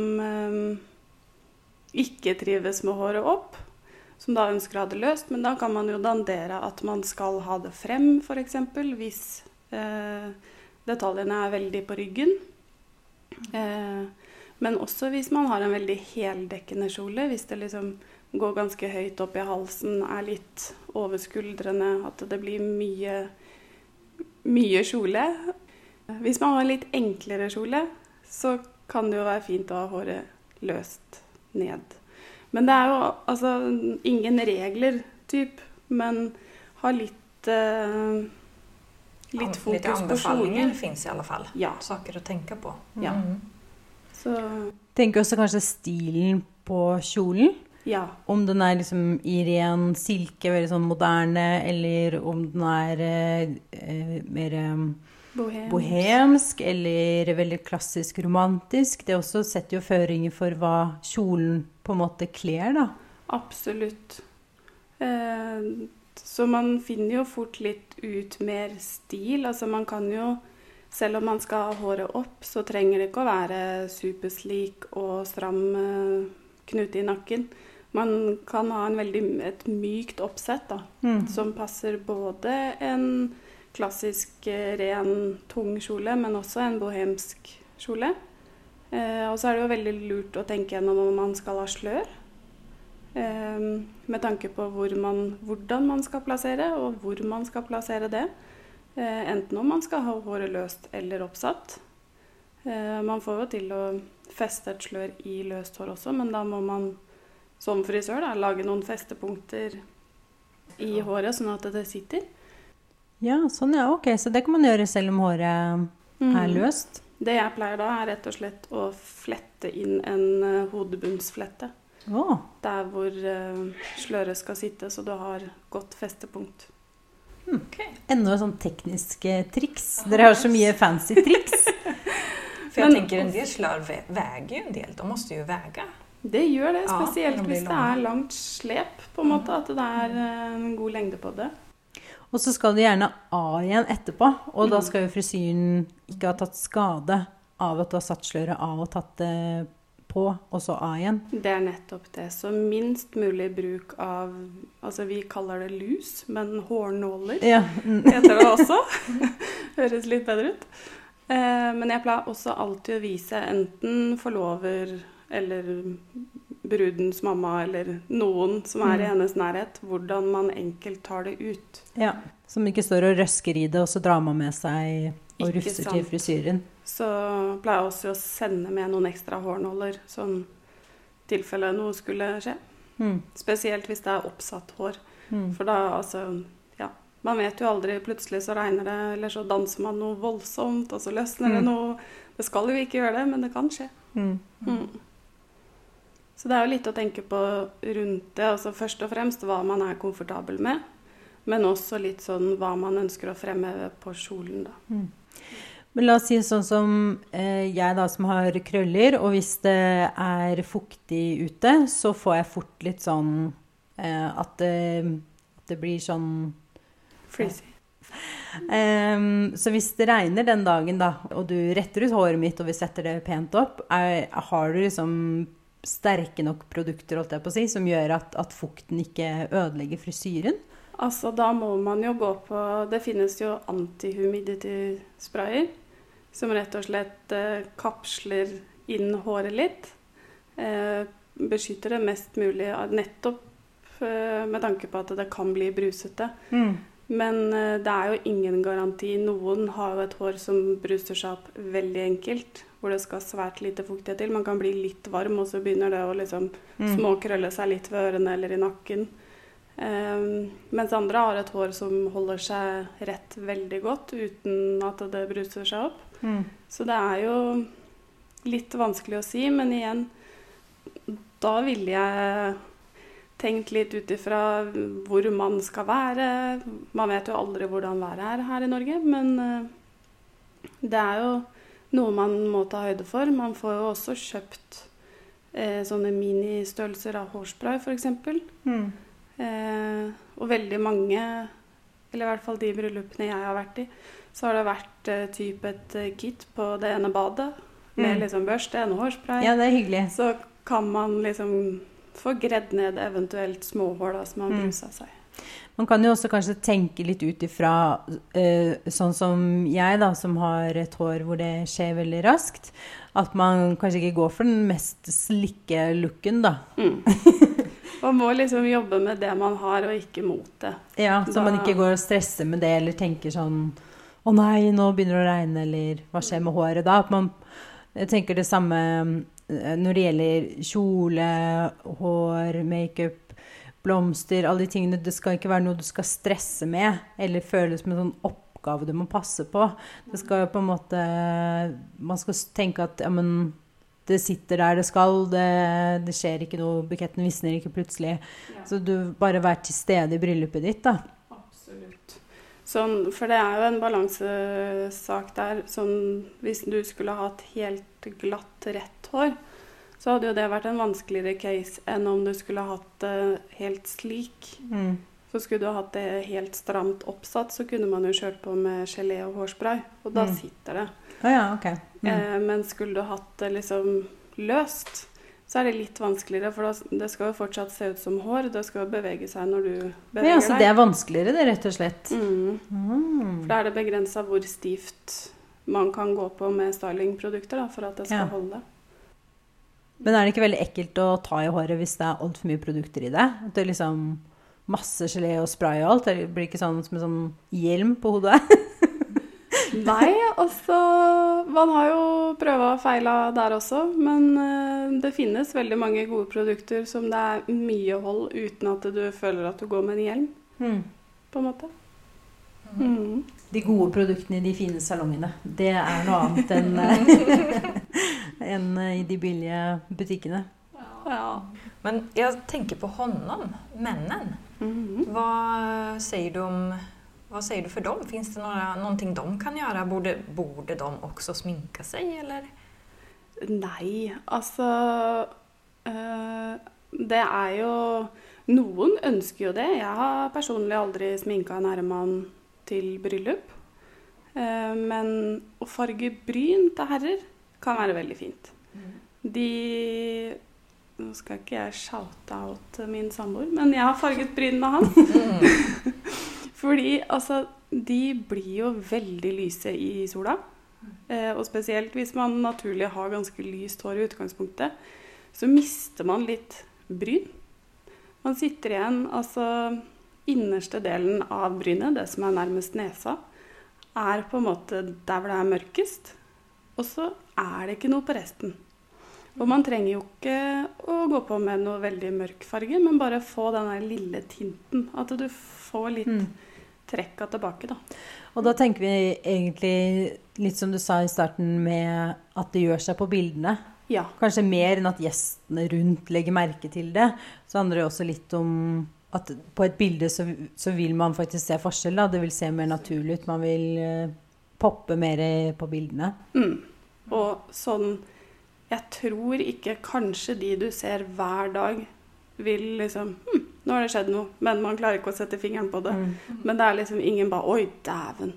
ikke trives med håret opp, som da ønsker å ha det løst, men da kan man jo dandere at man skal ha det frem, for eksempel, hvis detaljene er veldig på ryggen. Men også hvis man har en veldig heldekkende kjole, hvis det liksom går ganske høyt opp i halsen, er litt over skuldrene, at det blir mye kjole. Hvis man har en litt enklere kjole, så kan det jo være fint å ha håret løst ned. Men det er jo altså ingen regler, typ, men ha litt fokus lite på anbefalinger kjolen. finns i alla fall. Ja. Saker att tänka på. Ja. Så, Tenker også kanskje stilen på kjolen. ja. Om den er liksom i ren silke, veldig sånn moderne, eller om den er mer bohemsk, eller veldig klassisk romantisk. Det også setter jo føringer for hva kjolen på en måte kler, da. Absolutt. Så man finner jo fort litt ut mer stil. Altså man kan jo, selv om man skal ha håret opp, så trenger det ikke å være superslik og stram knute i nakken. man kan ha et mykt oppsett da, som passer både en klassisk ren, tung kjole, men også en bohemsk kjole. Og så er det jo veldig lurt å tenke gjennom om man skal ha slør, med tanke på hvordan man skal plassere, og hvor man skal plassere det. Enten om man skal ha håret løst eller oppsatt. Man får jo til å feste et slør i løst hår også, men da må man som frisør da, lage noen festepunkter i håret, sånn at det sitter. Ja, sånn ja, ok. Så det kan man gjøre selv om håret er løst. Det jeg pleier da er rett og slett å flette inn en hodebunnsflette. Der hvor sløret skal sitte, så du har godt festepunkt. Okay. Enda sånn tekniske triks. Dere har så mye fancy triks. For jeg tenker en del slør väger ju en del. De måste ju väga. Det gjør det, spesielt hvis det er langt slep, på en måte, at det er en god lengde på det. Og så skal du gjerne av igjen etterpå, og da skal jo frisyren ikke ha tatt skade av at du har satt sløret av og tatt det på, og så av igjen. Det er nettopp det. Så minst mulig bruk av, altså vi kaller det lus, men hårnåler heter det også. Høres litt bedre ut. Men jeg pleier også alltid å vise enten forlover eller brudens mamma eller noen som er i hennes nærhet, hvordan man enkelt tar det ut. Ja, som ikke står og røsker i det, og så drar man med seg og rufser til frisyren. Så pleier jeg også å sende med noen ekstra hårnåler, sånn tilfelle noe skulle skje. Spesielt hvis det er oppsatt hår. For da, altså, ja, man vet jo aldri, plutselig så regner det, eller så danser man noe voldsomt, og så løsner det noe. Det skal jo ikke gjøre det, men det kan skje. Så det er jo litt å tenke på rundt det, altså først og fremst hva man er komfortabel med, men også litt sånn hva man ønsker å fremheve på kjolen da. Men la oss si sånn som jeg da som har krøller, og hvis det er fuktig ute, så får jeg fort litt sånn at det blir sånn frizzy. Så hvis det regner den dagen da, og du retter ut håret mitt og vi setter det pent opp, har du liksom sterke nok produkter, holdt jeg på å si, som gjør at fukten ikke ødelegger frisyren? Altså, da må man jo gå på, det finnes jo anti-humidity-sprayer, som rett og slett kapsler inn håret litt, beskytter det mest mulig, nettopp med tanke på at det kan bli brusete. Men det er jo ingen garanti. Noen har jo et hår som bruser seg opp veldig enkelt, hvor det skal svært lite fuktighet til. Man kan bli litt varm, og så begynner det å liksom småkrølle seg litt ved ørene eller i nakken. Mens andre har et hår som holder seg rett veldig godt, uten at det bruser seg opp. Så det er jo litt vanskelig å si, men igjen, da ville jeg tenkt litt ut ifra hvor man skal være. Man vet jo aldri hvordan været er her i Norge, men det er jo noe man må ta høyde for. Man får jo også kjøpt sånne ministørrelser av hårspray, for eksempel. Og veldig mange, eller i hvert fall de bryllupene jeg har vært i, så har det vært typ et kit på det ene badet, med liksom børste, en hårspray. Ja, det er hyggelig. Så kan man liksom få gredd ned eventuelt småhår da, som har bruset seg. Man kan jo også kanskje tenke litt ut ifra sånn som jeg da, som har et hår hvor det skjer veldig raskt, at man kanskje ikke går for den mest slikke looken da. Man må liksom jobbe med det man har, og ikke mot det. Ja, så man ikke går og stresser med det, eller tenker sånn, å nei, nå begynner det å regne, eller hva skjer med håret da? At man tenker det samme når det gjelder kjole, hår, make-up, blomster, alle de tingene. Det skal ikke være noe du skal stresse med, eller føles som en sånn oppgave du må passe på. Det skal jo på en måte, man skal tenke at ja, men, det sitter der det skal, det skjer ikke noe, buketten visner ikke plutselig. Ja. Så du bare vær til stede i bryllupet ditt da. Absolutt. Sånn, for det er jo en balansesak der, sånn, hvis du skulle ha et helt glatt rett hår, så hadde jo det vært en vanskeligere case enn om du skulle ha hatt det helt slik. Så skulle du ha hatt det helt stramt oppsatt, så kunne man jo kjørt på med gelé og hårspray, og da sitter det. Ja, ok. Men skulle du ha hatt det liksom løst, så det litt vanskeligere, for det skal jo fortsatt se ut som hår. Det skal jo bevege seg når du beveger Men altså, deg. det vanskeligere, det, rett og slett. For da det begrenset hvor stivt man kan gå på med stylingprodukter da, for at det skal holde. Men det ikke veldig ekkelt å ta i håret hvis det alt for mye produkter i det? At det liksom masse gelé og spray og alt? Det blir ikke sånn som en sånn hjelm på hodet? Nei, altså, man har jo prøvet og feilet der også, men det finnes veldig mange gode produkter som det mye hold uten at du føler at du går med en hjelm, på en måte. De gode produktene i de fine salongene, det noe annet enn i de billige butikkene. Ja. Men jeg tenker på honom, männen. Hva sier du om... Vad säger du för dem? Finns det någonting de kan göra? Borde de också sminka sig, eller? Nei, altså... det jo... Noen ønsker jo det. Jeg har personlig aldri sminket en herremann til bryllup. Men å farge bryn til herrer kan være veldig fint. Nå skal ikke jeg shoute out min samboer, men jeg har farget brynene hans. Fordi altså, de blir jo veldig lyse i sola, og spesielt hvis man naturlig har ganske lyst hår i utgangspunktet, så mister man litt bryn. Man sitter igjen, altså innerste delen av brynet, det som nærmest nesa, på en måte der hvor det mørkest, og så det ikke noe på resten. Og man trenger jo ikke å gå på med noe veldig mørk farge, men bare få denne lille tinten, at du får litt trekka tilbake da. Og da tenker vi egentlig, litt som du sa i starten, med at det gjør seg på bildene. Ja. Kanskje mer enn at gjestene rundt legger merke til det. Så handler det også litt om at på et bilde så vil man faktisk se forskjell da. Det vil se mer naturlig ut. Man vil poppe mer på bildene. Og sånn, jeg tror ikke kanskje de du ser hver dag vil liksom, nå har det skjedd noe, men man klarer ikke å sette fingeren på det. Men det liksom ingen bare, oi, dæven,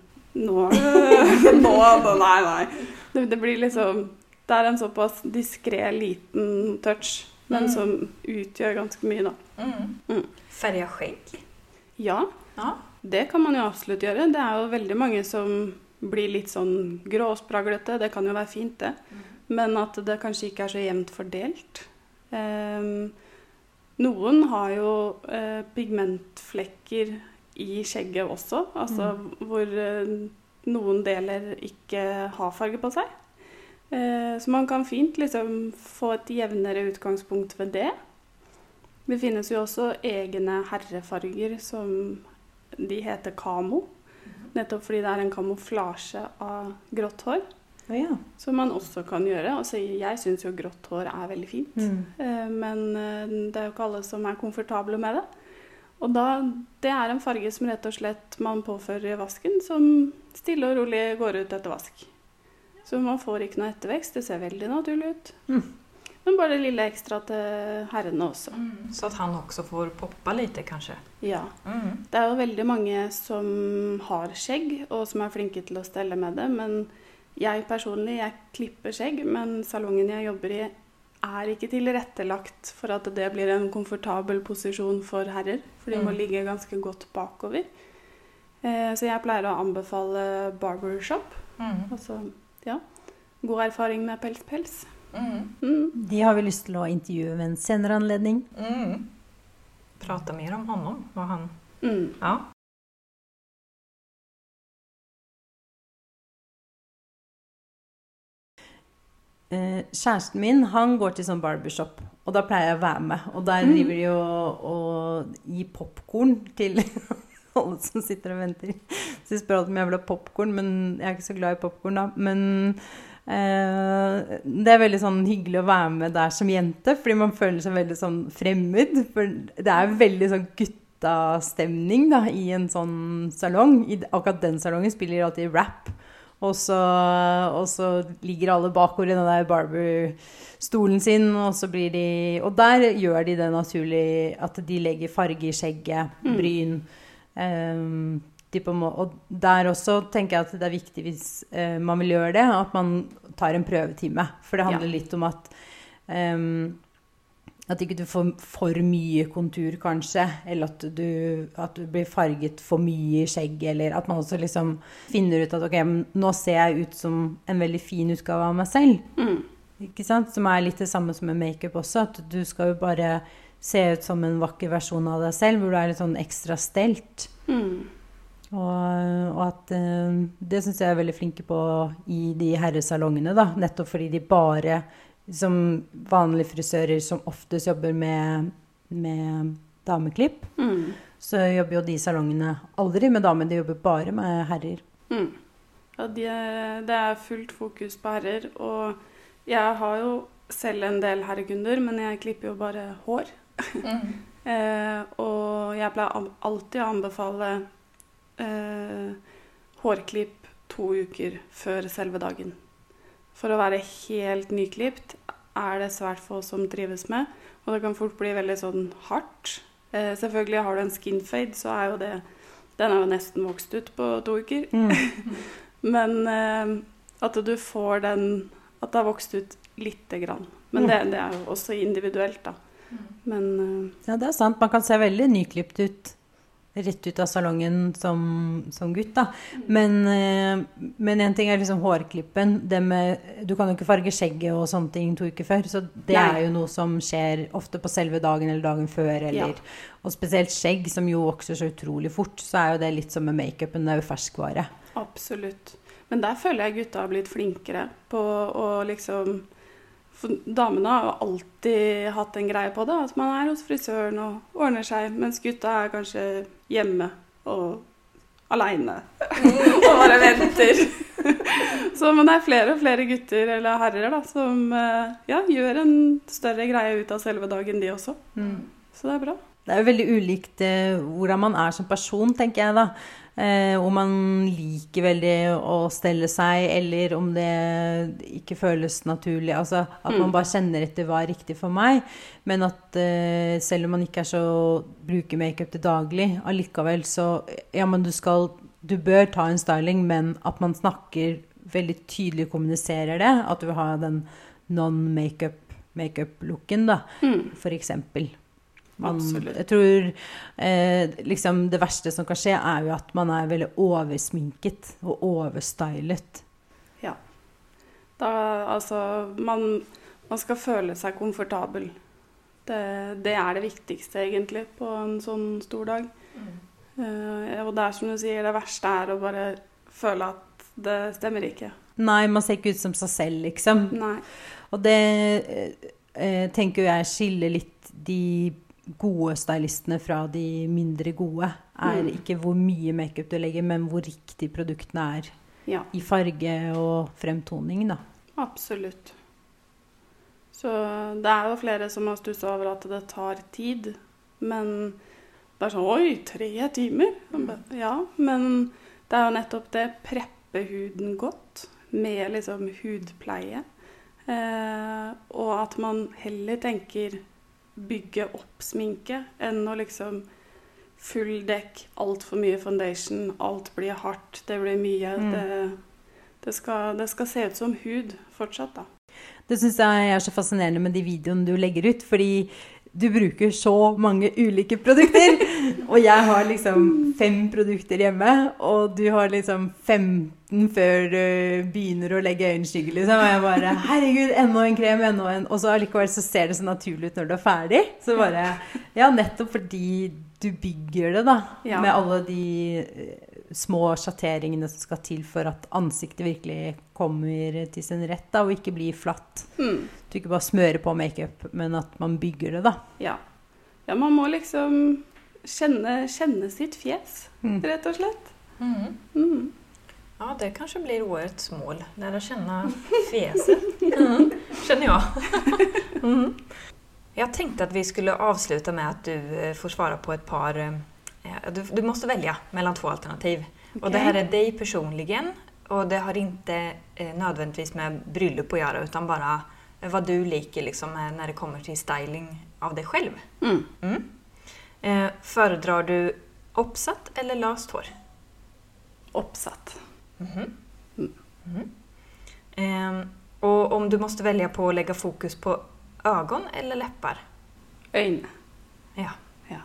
nei. Det blir liksom, det en såpass diskret liten touch, men som utgjør ganske mye da. Färga skjegg? Ja, det kan man jo absolutt gjøre. Det jo veldig mange som blir litt sånn gråspraglete, det kan jo være fint det. Men at det kanskje ikke så jevnt fordelt. Noen har jo pigmentflekker i skjegget også, altså hvor noen deler ikke har farge på seg. Så man kan fint liksom få et jevnere utgangspunkt ved det. Det finnes jo også egne herrefarger som de heter kamo, nettopp fordi det en kamuflasje av grått hår. Ja. Som man også kan gjøre. Altså, jeg synes jo grått hår veldig fint. Men det jo ikke alle som komfortable med det. Og da, det en farge som rett og slett man påfører i vasken, som stille og rolig går ut etter vask. Så man får ikke noe ettervekst. Det ser veldig naturlig ut. Men bare det lille ekstra til herrene også. Så at han også får poppa litt, kanskje? Ja. Det jo veldig mange som har skjegg, og som flinke til å stelle med det, men jeg personlig, jeg klipper skjegg, men salongen jeg jobber i ikke tilrettelagt for at det blir en komfortabel posisjon for herrer, for de må ligge ganske godt bakover. Så jeg pleier å anbefale barbershop. Altså, ja, god erfaring med pels. De har vi lyst til å intervjue ved en senere anledning. Prata mer om honom, vad han... Ja. Kjæresten min, han går til sånn barbershop, og da pleier jeg å være med. Og der driver de og gi popcorn til alle som sitter og venter. Så jeg spør alltid om jeg vil ha popcorn, men jeg ikke så glad i popcorn da. Men det veldig sånn hyggelig å være med der som jente, fordi man føler seg veldig sånn fremmed. For det veldig sånn guttastemning da, i en sånn salong. Akkurat den salongen spiller alltid rap. Og så ligger alle bakover i den der barberstolen sin, og så blir de... Og der gjør de det naturlig at de legger farge i skjegget, bryn. Og der også tenker jeg at det viktig hvis man vil gjøre det, at man tar en prøvetime. For det handler litt om at At ikke du får for mye kontur, kanskje, eller at du blir farget for mye i skjegg, eller at man også liksom finner ut at ok, nå ser jeg ut som en veldig fin utgave av meg selv. Ikke sant? Som litt det samme som med make-up også, at du skal jo bare se ut som en vakker versjon av deg selv, hvor du litt sånn ekstra stelt. Og at det synes jeg veldig flinke på i de herresalongene, da, nettopp fordi de bare som vanlige frisører som oftest jobber med dameklipp, så jobber jo de salongene aldri med damer, de jobber bare med herrer. Ja, det fullt fokus på herrer, og jeg har jo selv en del herrekunder, men jeg klipper jo bare hår. Og jeg pleier alltid å anbefale hårklipp 2 uker før selve dagen. For å være helt nyklipt det svært få som trives med, og det kan fort bli veldig sånn hardt. Selvfølgelig har du en skin fade, så jo den jo nesten vokst ut på 2 uker. Men at du får den, at det har vokst ut lite grann. Men det jo også individuelt da. Men, ja, det sant. Man kan se veldig nyklipt ut. Rett ut av salongen som gutt da. Men en ting liksom hårklippen. Du kan jo ikke farge skjegget og sånne ting 2 uker før, så det jo noe som skjer ofte på selve dagen eller dagen før. Og spesielt skjegg, som jo vokser så utrolig fort, så jo det litt som med make-upen, det jo ferskvare. Absolutt. Men der føler jeg gutta har blitt flinkere på å liksom... For damene har jo alltid hatt en greie på det, at man hos frisøren og ordner seg, mens gutta kanskje hjemme og alene og bare venter. Så, men det flere og flere gutter eller herrer da, som gjør en større greie ut av selve dagen de også. Så det bra. Det jo veldig ulikt hvordan man som person, tenker jeg da. Om man liker veldig å stelle seg, eller om det ikke føles naturlig. Altså at man bare kjenner etter hva riktig for meg. Men at selv om man ikke så bruker make-up til daglig, allikevel så, ja, men du bør ta en styling, men at man snakker veldig tydelig og kommuniserer det. At du har den non-make-up-looken da, for eksempel. Jeg tror liksom det verste som kan skje jo at man veldig oversminket og overstylet. Ja. Da, altså, man skal føle seg komfortabel. Det det viktigste egentlig på en sånn stor dag. Og det som du sier, det verste å bare føle at det stemmer ikke. Nei, man ser ikke ut som seg selv, liksom. Nei. Og det tenker jeg skiller litt de gode stylistene fra de mindre gode ikke hvor mye make-up du legger, men hvor riktig produktene i farge og fremtoning da. Absolutt. Så det jo flere som har stusset over at det tar tid, men det sånn, oi, 3 timer? Ja, men det jo nettopp det, preppe huden godt med liksom hudpleie, og at man heller tenker bygge opp sminke enn å liksom full dekk, alt for mye foundation, alt blir hardt, det blir mye, det skal se ut som hud fortsatt da. Det synes jeg så fascinerende med de videoene du legger ut, fordi du bruker så mange ulike produkter, og jeg har liksom 5 produkter hjemme, og du har liksom 15 før du begynner å legge øyenskygge, liksom, og jeg bare, herregud, enda en krem, og så allikevel så ser det så naturlig ut når du ferdig, så bare, ja, nettopp fordi du bygger det da, med alle de små sjatteringene som skal til for at ansiktet virkelig kommer til sin rett da, og ikke blir flatt. Du ikke bare smører på make-up, men at man bygger det da. Ja, man må liksom kjenne sitt fjes, rett og slett. Ja, det kanske blir årets mål, lära känna fjeset, känner jag. Jag tänkte att vi skulle avsluta med att du får svara på ett par... Du måste välja mellan 2 alternativ. Okay. Och det här dig personligen. Och det har inte nödvändigtvis med bryllup att göra. Utan bara vad du liker liksom, när det kommer till styling av dig själv. Föredrar du uppsatt eller löst hår? Uppsatt. Och om du måste välja på att lägga fokus på ögon eller läppar? Øyne. Ja. Ja.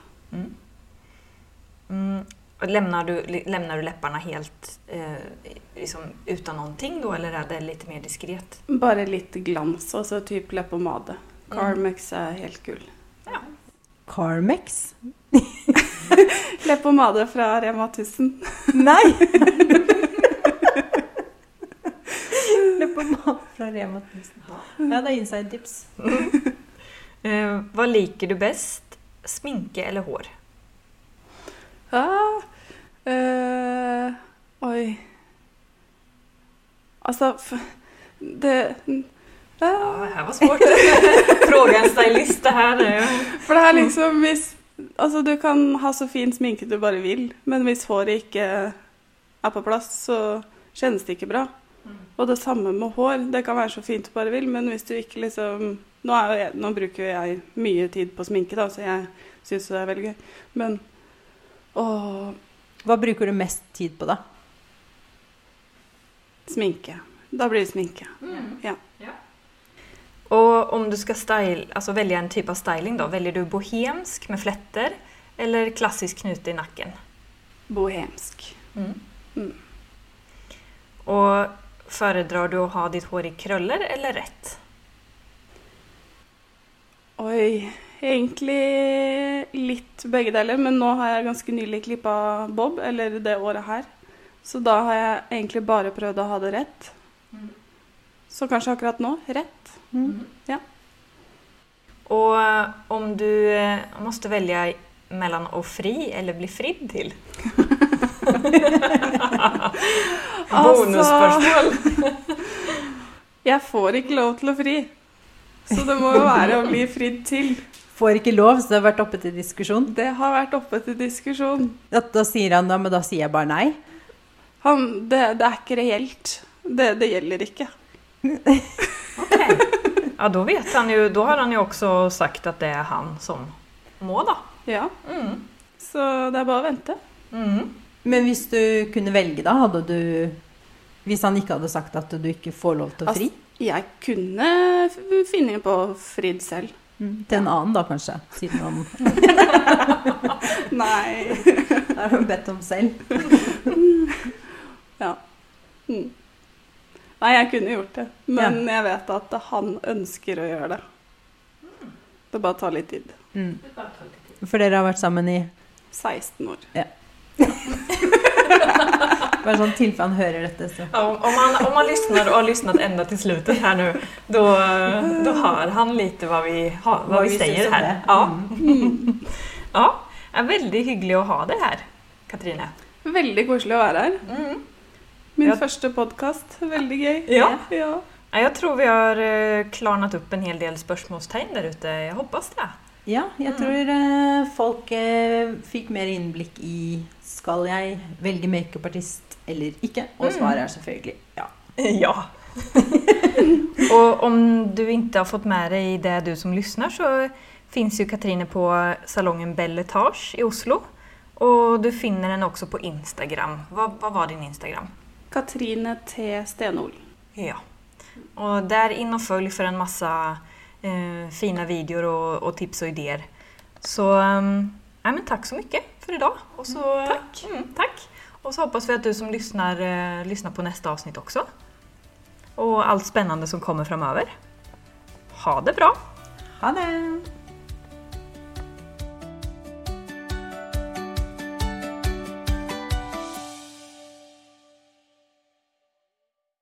Och lämnar du läpparna helt liksom utan någonting då, eller är det lite mer diskret? Bare litt glans, og så typ leppepomade. Carmex er helt gull. Ja. Carmex? Leppepomade fra Rema 1000. Nei! Leppepomade fra Rema 1000. Ja, det er inside tips. Vad liker du bäst? Sminke eller hår? Oj. Altså, det... Ja, det här var svårt. Fråga en stylist det här nu. For det er liksom, altså du kan ha så fin sminke du bare vil, men hvis håret ikke er på plass, så kjennes det ikke bra. Og det samme med hår, det kan være så fint du bare vil, men hvis du ikke liksom... Nå bruker jeg mye tid på sminke da, så jeg synes det er veldig gøy. Men... Hva bruker du mest tid på da? Sminke. Da blir det sminke. Ja. Och om du ska välja en typ av styling då, väljer du bohemsk med flätter eller klassisk knute i nacken? Bohemsk. Och föredrar du att ha ditt hår i krøller eller rätt? Oi, egentlig litt begge deler, men nå har jeg ganske nylig klippet bob, eller det året her. Så da har jeg egentlig bare prøvd å ha det rett. Så kanskje akkurat nå, rett. Ja. Och om du måste välja mellan att fri eller bli fridd till? Bonusspørsmål. Jeg får ikke lov til å fri. Så det må jo være å bli fridd til. Får ikke lov, så det har vært oppe til diskusjon. Det har vært oppe til diskusjon. Da sier han da, men da sier jeg bare nei. Det er ikke reelt. Det gjelder ikke. Okej. Ja, då vet han ju, då har han ju också sagt att det är han som må då. Ja. Så det er bare å vente. Men hvis du kunne velge da, hadde du, hvis han ikke hadde sagt at du ikke får lov til å fri? Jeg kunne finne på fridd selv. Til en annen da, kanskje, siden han... Nei. Det har du bedt om selv. Ja. Nei, jeg kunne gjort det. Men jeg vet at han ønsker å gjøre det. Det bare tar litt tid. For dere har vært sammen i? 16 år. Ja. Bare sånn tilfelle han hører dette. Så. Ja, om man lyssnar och har lyssnat ända till slutet här nu, då hör han lite vad vi säger här. Ja. Ja, det är väldigt hyggligt att ha det här, Katrine. Veldig koselig å være her. Min første podcast. Veldig gøy. Ja. Ja. Jag tror vi har klarnat upp en hel del spørsmålstegn der ute. Jeg hoppas det. Ja, jeg tror folk fikk mer innblikk i skal jeg velge makeupartist eller ikke? Og svaret er selvfølgelig ja. Ja. Och om du inte har fått med dig det du som lyssnar så finns ju Katrine på salongen Belle Etage i Oslo. Och du finner den också på Instagram. Vad var din Instagram? Katrine T. Stenol. Ja. Och där in och följ för en massa fina videor och tips och idéer. Så men tack så mycket för idag. Och så, tack. Tack. Och så hoppas vi att du som lyssnar på nästa avsnitt också. Och allt spännande som kommer framöver. Ha det bra! Ha det!